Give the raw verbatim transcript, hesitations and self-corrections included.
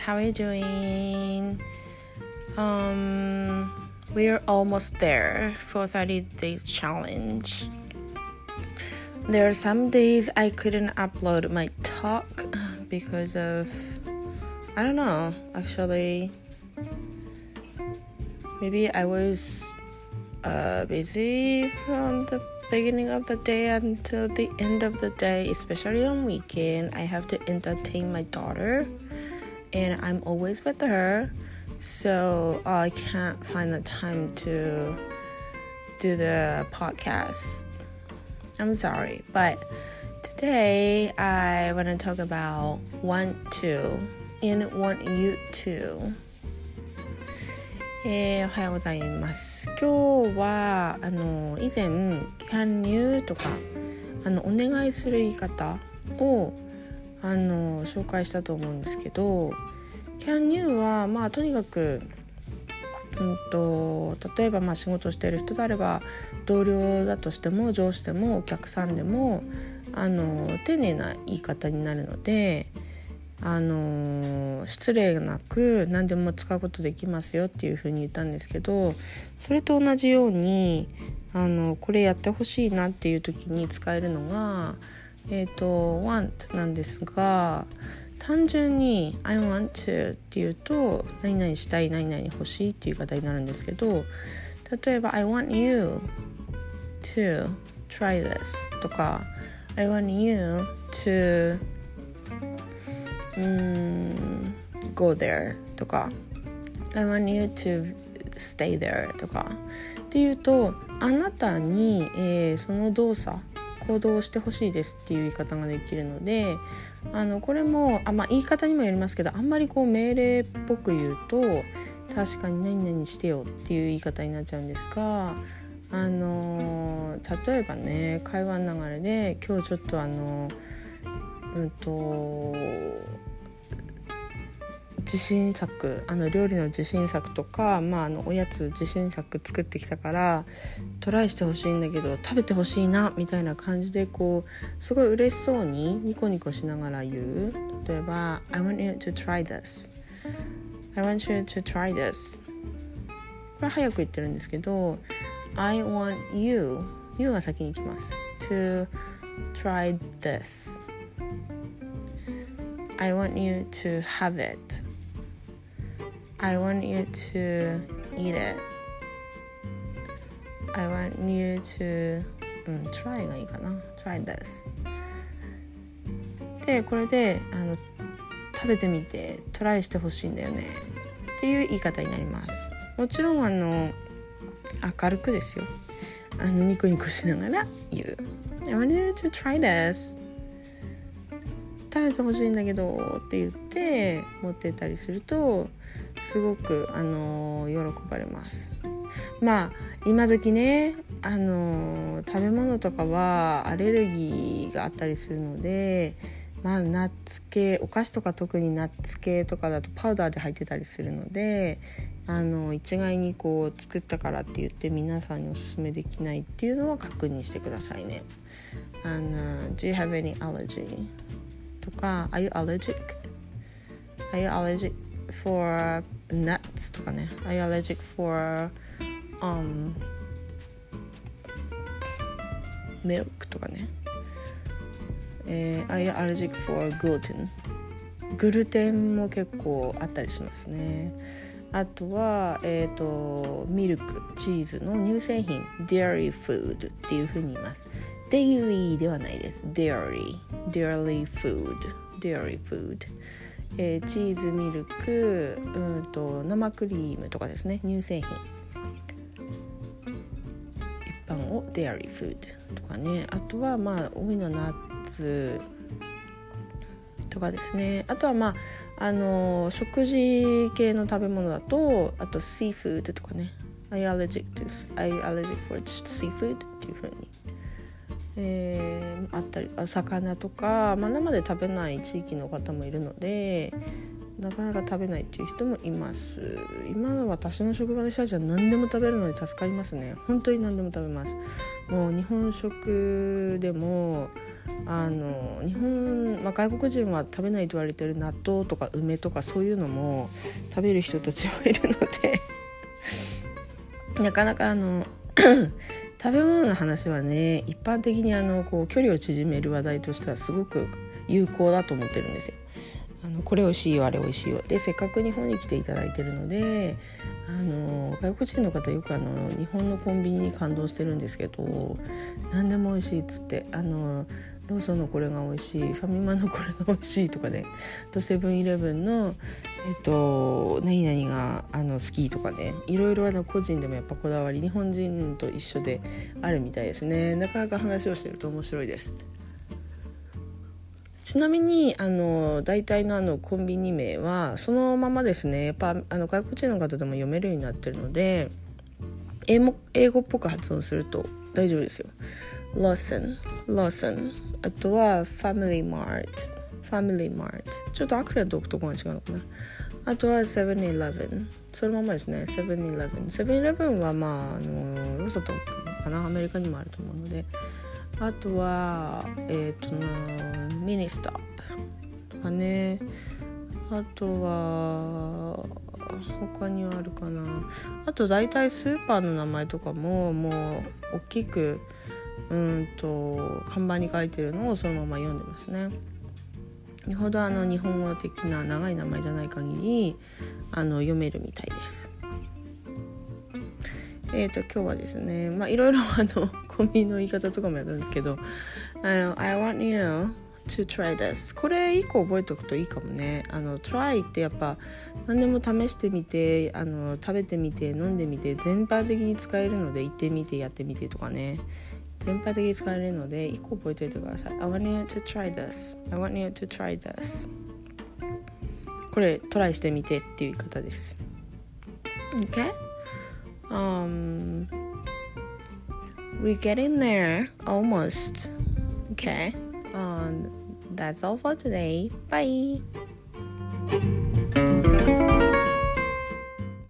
how are you doing? Um, we're almost there for thirty days challenge. There are some days I couldn't upload my talk because of, I don't know, actually, maybe I was uh, busy from the beginning of the day until the end of the day, especially on weekend. I have to entertain my daughter and I'm always with her, so I can't find the time to do the podcast. I'm sorry, but today I want to talk about want to and want you to。えー、おはようございます。今日はあの以前 can you とかあのお願いする言い方をあの紹介したと思うんですけど、 can you はまあとにかく、うんと例えばまあ仕事してる人であれば同僚だとしても上司でもお客さんでもあの丁寧な言い方になるので、あの失礼なく何でも使うことできますよっていう風に言ったんですけど、それと同じようにあのこれやってほしいなっていう時に使えるのが、えーと want なんですが、単純に I want to っていうと何々したい何々欲しいっていう言い方になるんですけど、例えば I want you to try this とか I want you to um, go there とか I want you to stay there とかっていうと、あなたに、えー、その動作行動をしてほしいですっていう言い方ができるので、あのこれもあ、まあ、言い方にもよりますけど、あんまりこう命令っぽく言うと確かに何々してよっていう言い方になっちゃうんですが、あの例えばね、会話の流れで今日ちょっとあのうんと自信作あの料理の自信作とか、まあ、あのおやつ自信作作ってきたからトライしてほしいんだけど食べてほしいなみたいな感じで、こうすごい嬉しそうにニコニコしながら言う。例えば I want you to try this I want you to try this これ早く言ってるんですけど、 I want you you が先に来ます。 to try this I want you to have it I want you to eat it I want you to、うん、try がいいかな。 try this で、これであの食べてみてトライしてほしいんだよねっていう言い方になります。もちろんあの明るくですよ、あのニコニコしながら言う。 I want you to try this食べてほしいんだけどって言って持ってったりするとすごくあの喜ばれます。まあ今時ね、あの食べ物とかはアレルギーがあったりするので、まあナッツ系、お菓子とか特にナッツ系とかだとパウダーで入ってたりするので、あの一概にこう作ったからって言って皆さんにおすすめできないっていうのは確認してくださいね。あの Do you have any allergy? とか Are you allergic? Are you allergic for nuts? とかね。 Are you allergic for um, milk? とかね。えー、Are you allergic for gluten? グルテンも結構あったりしますね。あとは、えーと、ミルク、チーズの乳製品 Dairy food っていう風に言います。デイリーではないです。 Dairy Dairy food Dairy food、えー、チーズ、ミルク、うんと生クリームとかですね、乳製品一般を Dairy food とかね。あとはまあ多いのはナッツとかですね。あとはまああの食事系の食べ物だと、あと Seafood とかね。 Are you allergic to Are you allergic for seafood? っていう風にえー、あったり、魚とか、まあ、生で食べない地域の方もいるのでなかなか食べないっていう人もいます。今の私の職場の人たちは何でも食べるので助かりますね。本当に何でも食べます。 もう日本食でもあの日本、まあ、外国人は食べないと言われてる納豆とか梅とかそういうのも食べる人たちもいるのでなかなかあの食べ物の話はね、一般的にあのこう距離を縮める話題としてはすごく有効だと思ってるんですよ。あのこれ美味しいよあれ美味しいよで、せっかく日本に来ていただいてるので、あの外国人の方よくあの日本のコンビニに感動してるんですけど、何でも美味しいっつって、あのローソンのこれが美味しい、ファミマのこれが美味しいとかね、とセブンイレブンのえっと何々があの好きとかね、いろいろあの個人でもやっぱこだわり日本人と一緒であるみたいですね。なかなか話をしてると面白いです。ちなみにあの大体のあのコンビニ名はそのままですね。やっぱあの外国人の方でも読めるようになってるので、英語、英語っぽく発音すると大丈夫ですよ。Lawson、Lawson、あとは Family Mart、Family Mart、ちょっとアクセント置くところが違うのかな。あとは セブンイレブン、そのままですね。セブンイレブン、セブンイレブンはまああのローソンとかな、アメリカにもあると思うので。あとはえっ、ー、とミニストップとかね。あとは他にはあるかな。あと大体スーパーの名前とかももう大きくうんと看板に書いてるのをそのまま読んでますね。よほどあの日本語的な長い名前じゃない限りあの読めるみたいです。えーと今日はですね、まあいろいろあのコンビニの言い方とかもやったんですけど、あの I want you to try this、 これ一個覚えておくといいかもね。あの try ってやっぱ何でも試してみて、あの食べてみて飲んでみて全般的に使えるので、行ってみてやってみてとかね、全般的に使えるので一個覚えておいてください。 I want you to try this、 I want you to try this、 これトライしてみてっていう言い方です。 OK、um we're getting there almost. Okay, um, that's all for today. Bye.